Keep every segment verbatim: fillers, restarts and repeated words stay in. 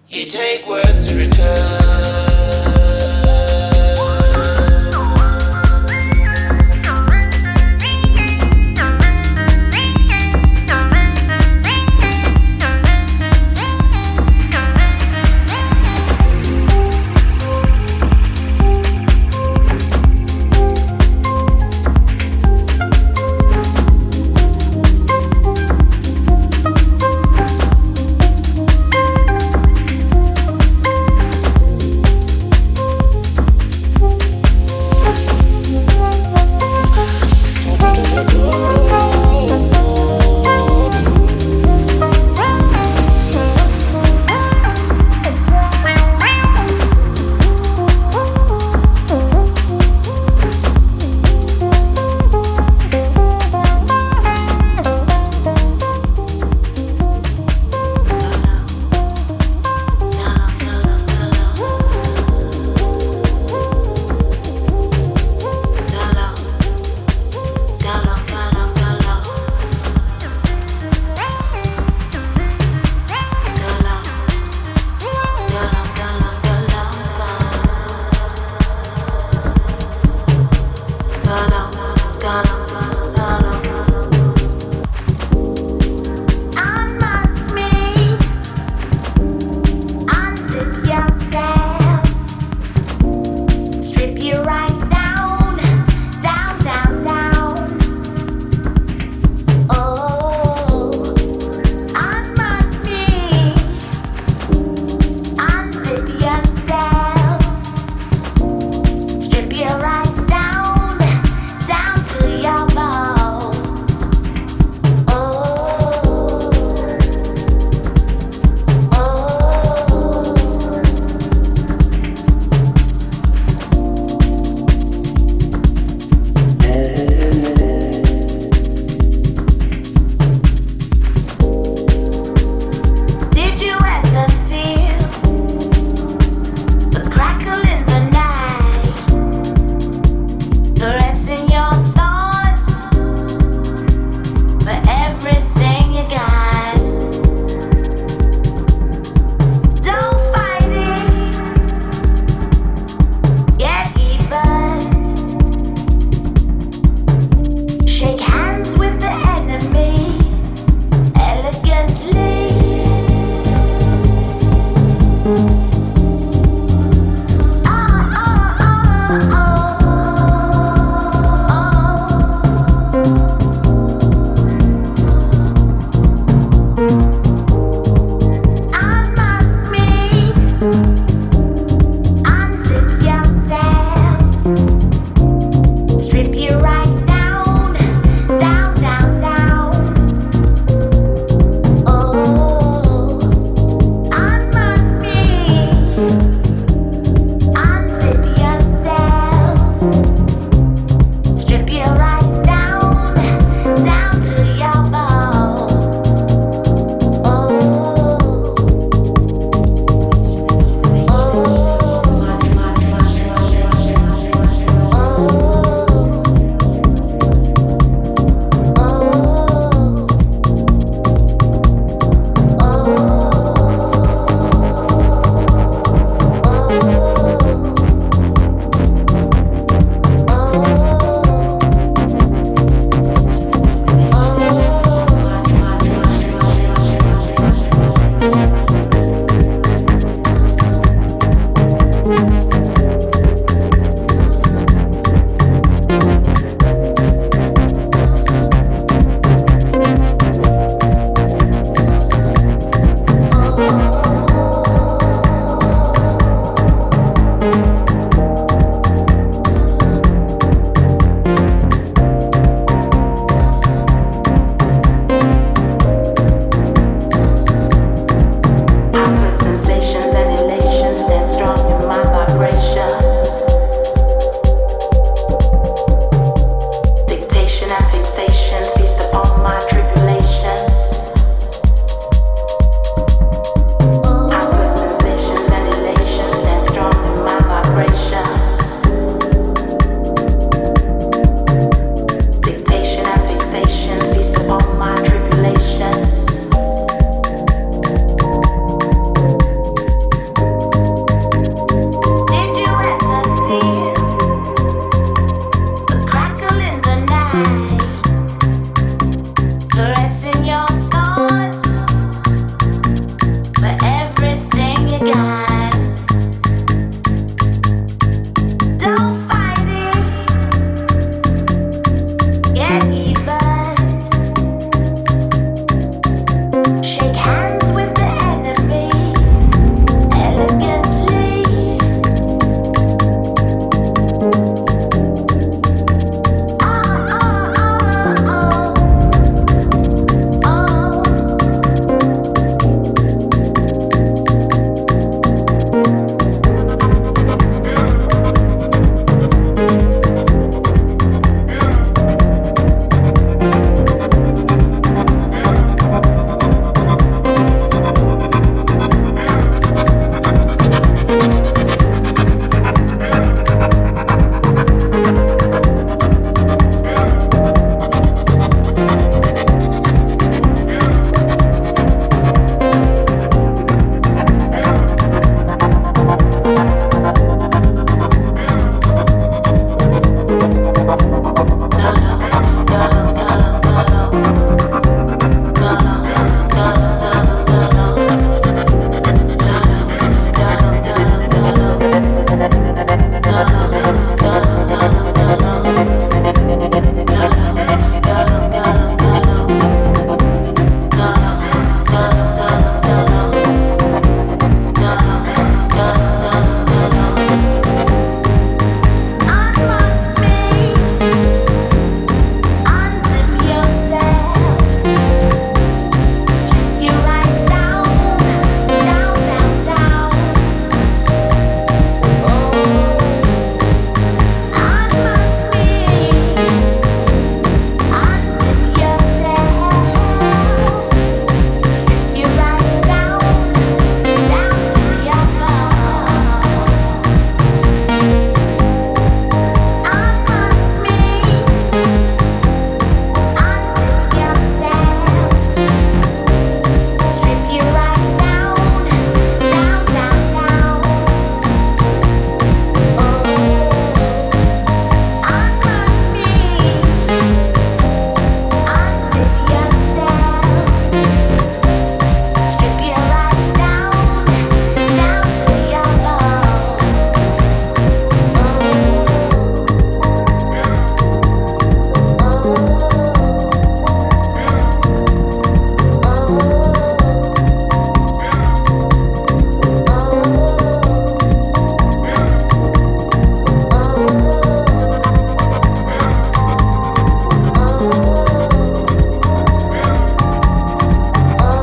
You take words to return.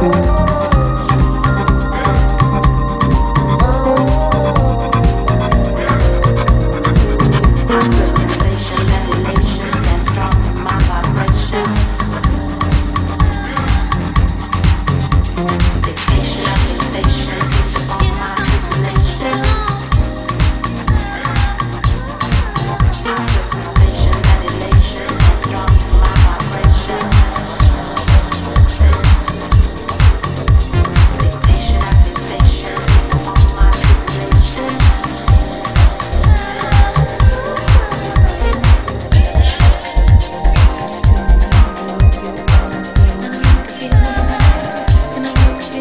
Feel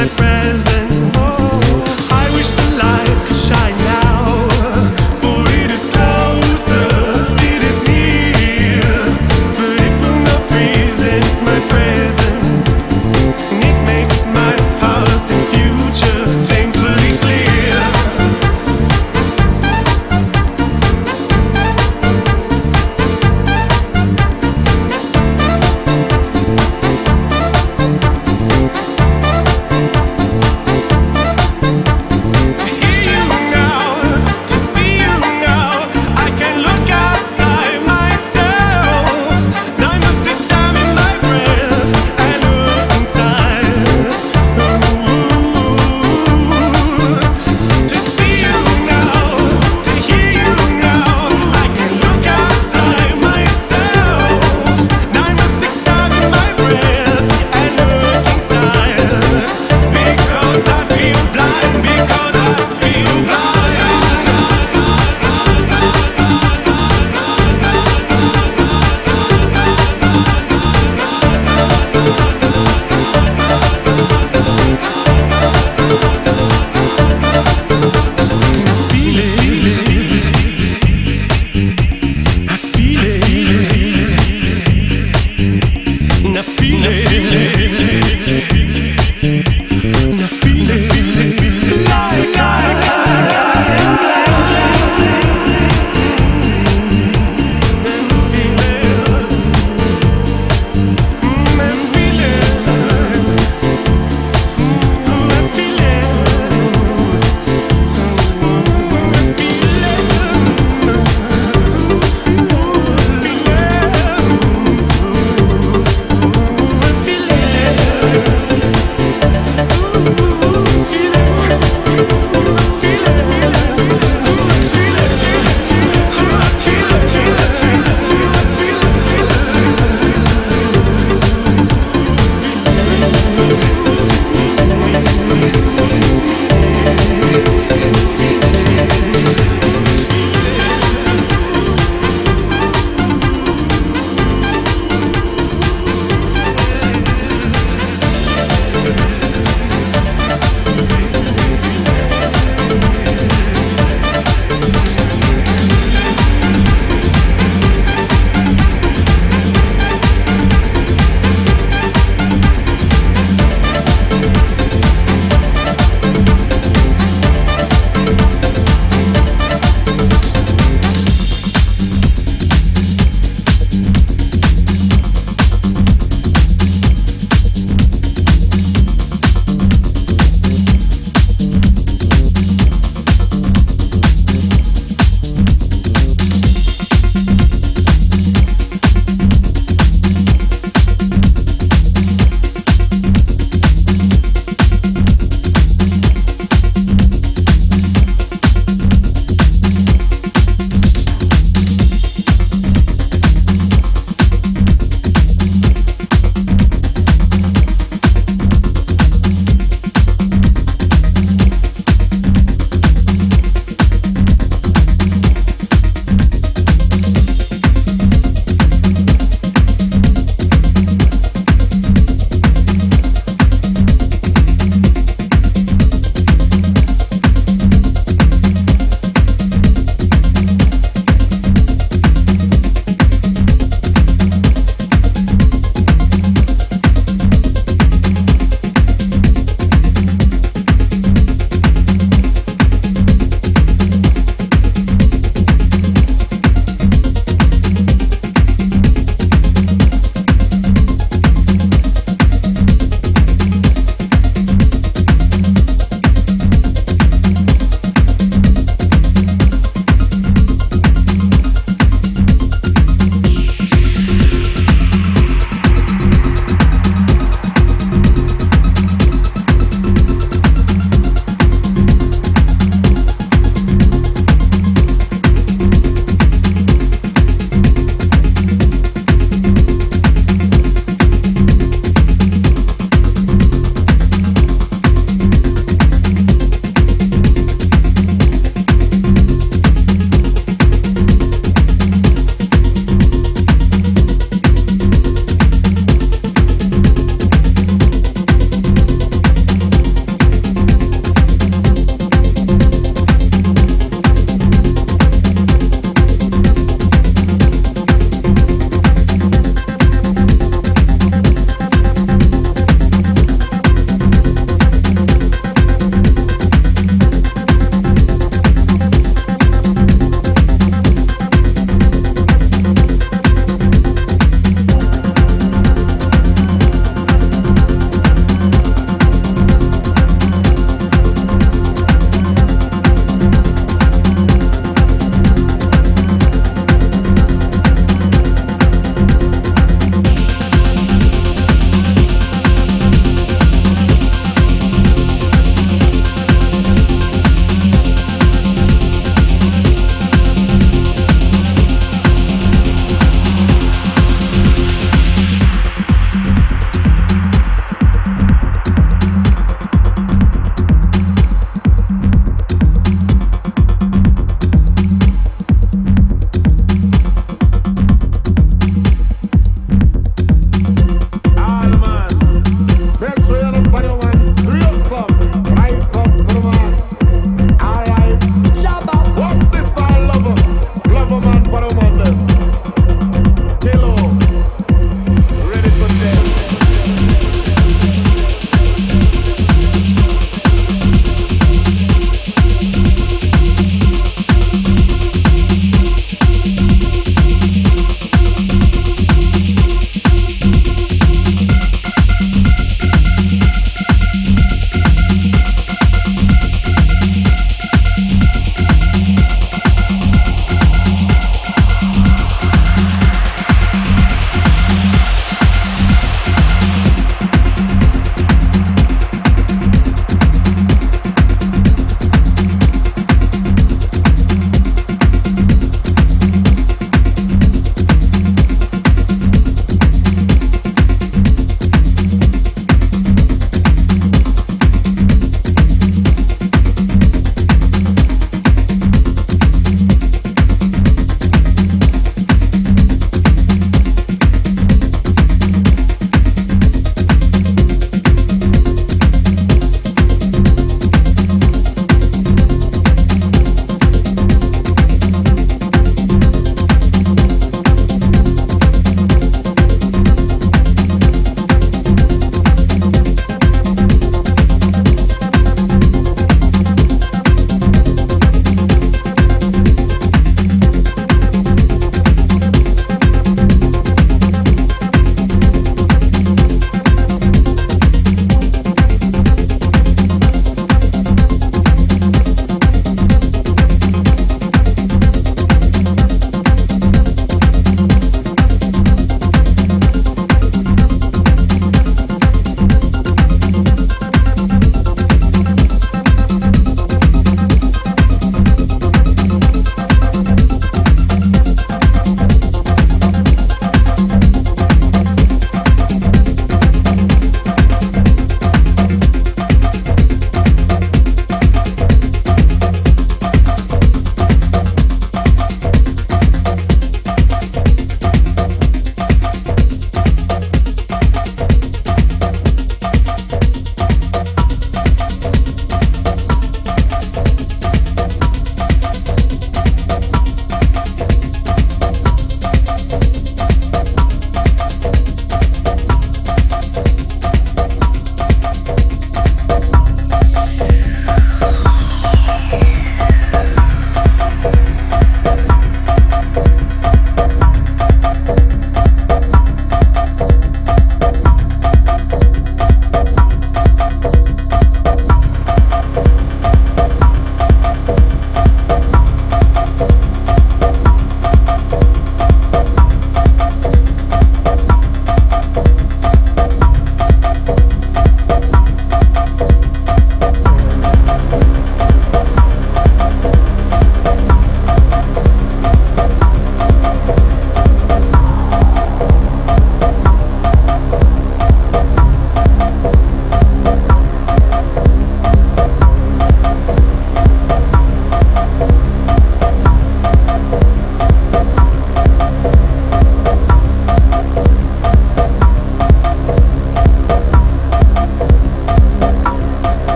Feeling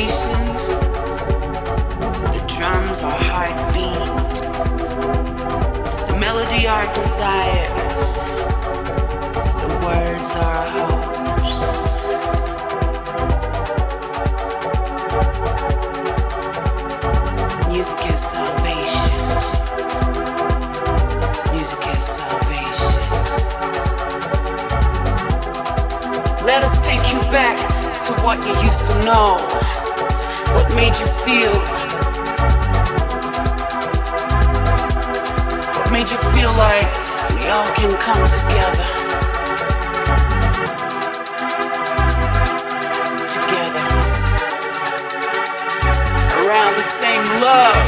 salvation. The drums are heartbeat. The melody are desires. The words are hopes. Music is salvation. Music is salvation. Let us take you back to what you used to know. What made you feel? What made you feel like we all can come together? Together. Around the same love.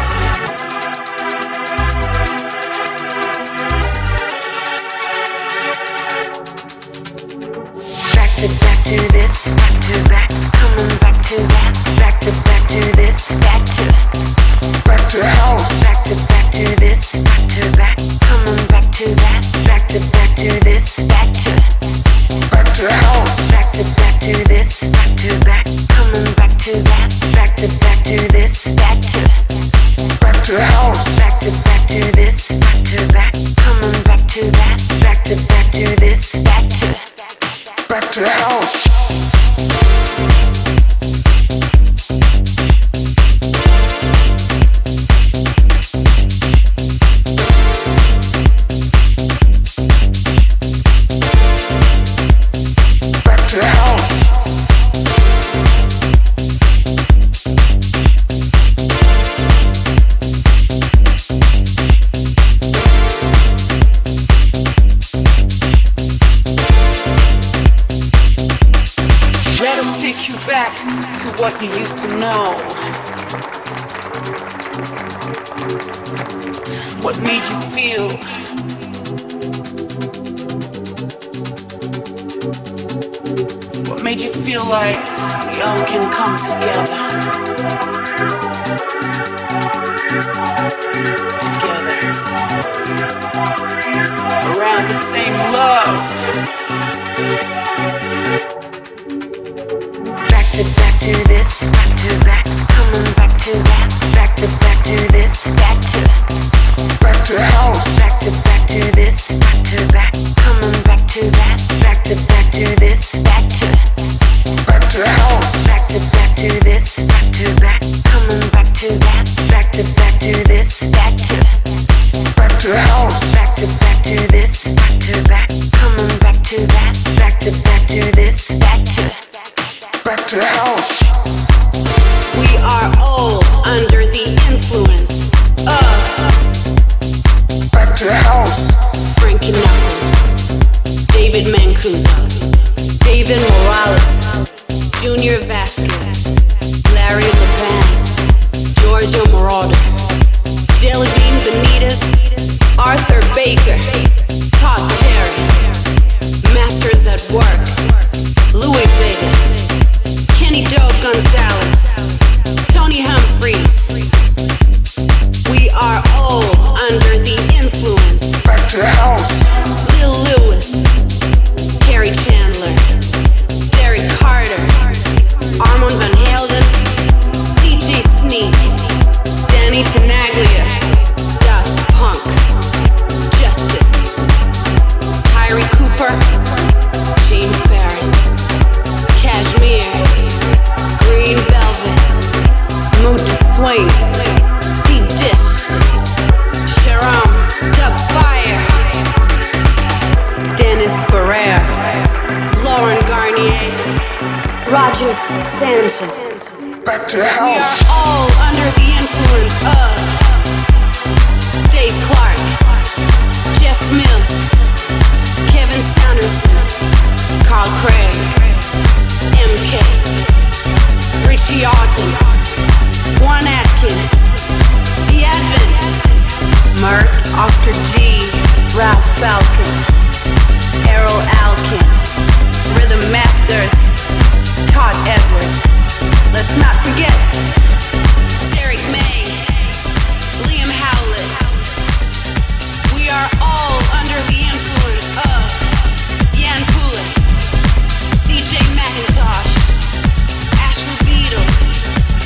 Back to back to this, back to back, coming back to that, back to back to this, back to back to house, back to back to this, back to back, coming back to that, back to back to this, back to back to house, back to back to this, back to back, coming back to that, back to back to this, back to back to house, back to back to this, back to back, coming back to that, back to back to this, back to back to the house. Back to the house. Let us take you back to what you used to know. What made you feel? What made you feel like we all can come together? Together. Around the same love. Back to back to this, back to back, coming back to that, back to back to this, back to back to the house, back to back to this, back to back, coming back to that, back to back to this, back to back to the house, back to back to this, back to back, coming back to that, back to back to this, back to back to the house, back to back to this, back to back, coming back to that, back to back to this, back to back to the house. We are all under the influence of back to the house. Frankie Knuckles, David Mancuso, David Morales, Junior Vasquez, Larry Levan, Giorgio Moroder, Jelly Bean Benitez, Arthur Baker, Todd Terry, Masters at Work, Louis Vega, Kenny Doe Gonzalez, Tony Humphries. We are all under the influence. Back to the house. Lil Lewis, Carrie Chandler, Derek Carter, Armand Van Helden, D J Sneak, Danny Tenaglia, Daft Punk, Justice, Tyree Cooper, Gene Ferris, Cashmere, Green Velvet, Mood to Swing, Deep Dish, Sharam, Dub Fire, Dennis Ferrer, Lauren Garnier, Roger Sanchez. Back to the house. We are all under the influence of Dave Clark, Jeff Mills, Kevin Sanderson, Carl Craig, M K, Richie Arden, Juan Atkins, The Advent, Merck, Oscar G, Ralph Falcon, Errol Alkin, Rhythm Masters, Todd Edwards. Let's not forget Derek May, Liam Howlett. We are all under the influence of Jan Poulet, C J McIntosh, Ashley Beadle,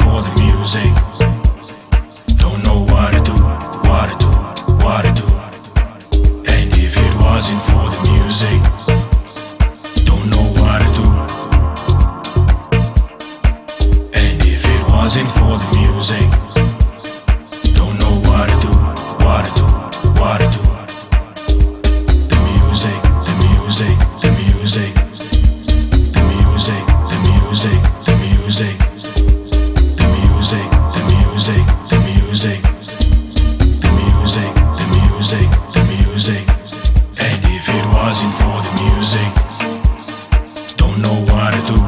for the music, don't know what to do, what to do, what to do. And if it wasn't for the music, don't know what to do. And if it wasn't for the music, don't know what to do, what to do, what to do. The music, the music, the music, the music, the music, the music, the music, the music, the music, the music, the music, the music. And if it wasn't for the music, don't know what to do.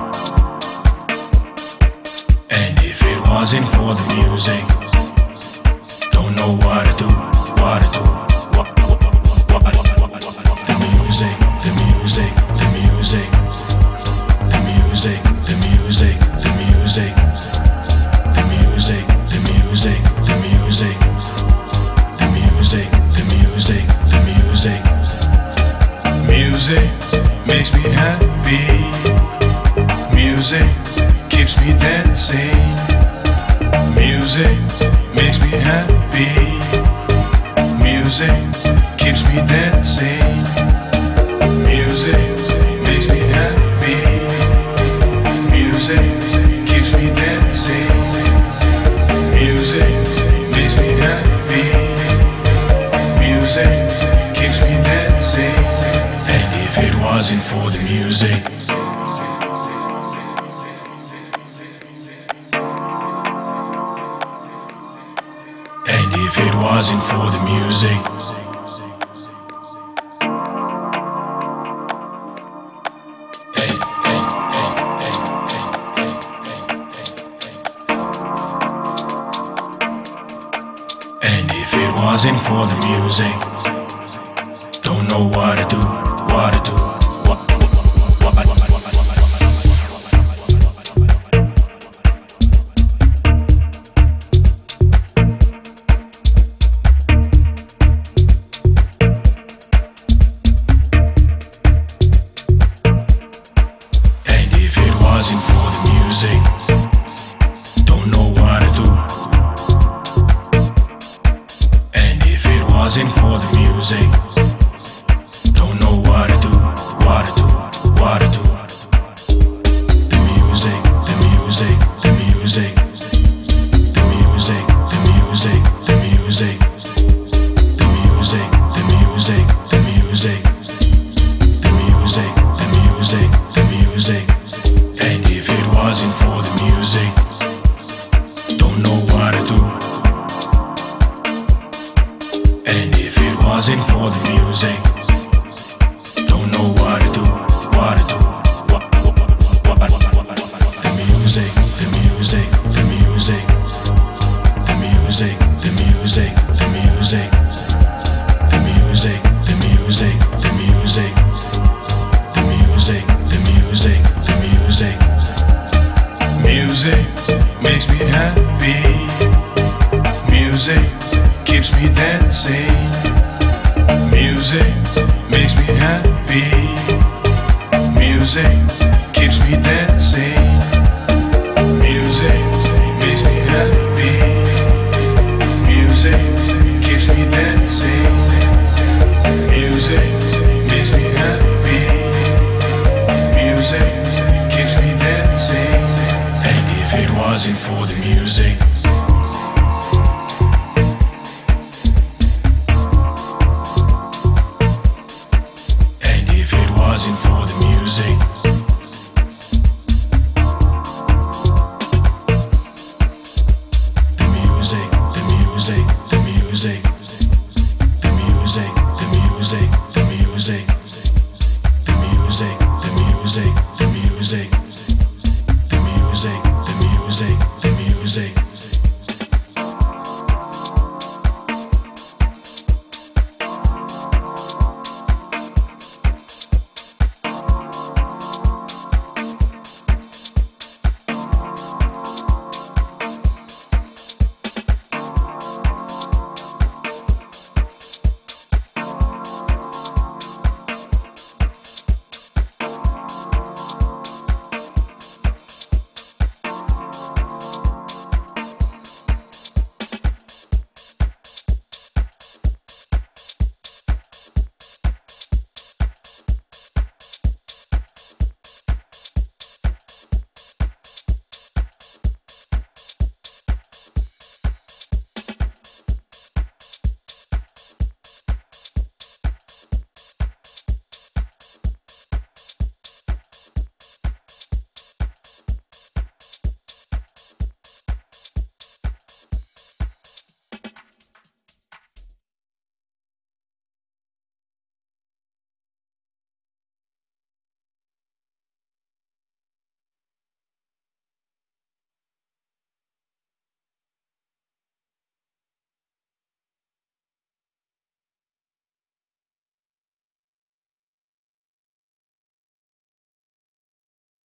And if it wasn't for the music, don't know what to do, what to do. What, what, what, what, what, what, what. The music, the music, the music, the music, the music, the music, the music, the music, the music, the music, the music, the music. Music makes me happy. Music keeps me dancing. Music makes me happy. Music keeps me dancing. Music makes me happy. Music keeps me dancing. Music makes me happy. Music keeps me dancing. And if it wasn't for the music, and if it wasn't for the music, and if it wasn't for the music, don't know what to do, what to do. What, what, what, what, what, what, what. Wasn't for the music, don't know what to do. And if it wasn't for the music, don't know what to do, what to do, what to do. The music, the music, the music, the music, the music, the music, the music, the music, the music, the music, the music, the music. And if it wasn't for the music, don't know what to do. And if it wasn't for the music, don't know what to do, what to do. What, what, what, what, what, what, what. The music, the music, the music, the music, the music, the music, the music, the music, the music, the music, the music, the music. Music makes me happy. Music keeps me dancing. Music makes me happy. Music keeps me dancing. Music makes me happy. Music keeps me dancing. Music makes me happy. Music keeps me dancing. And if it wasn't for the music,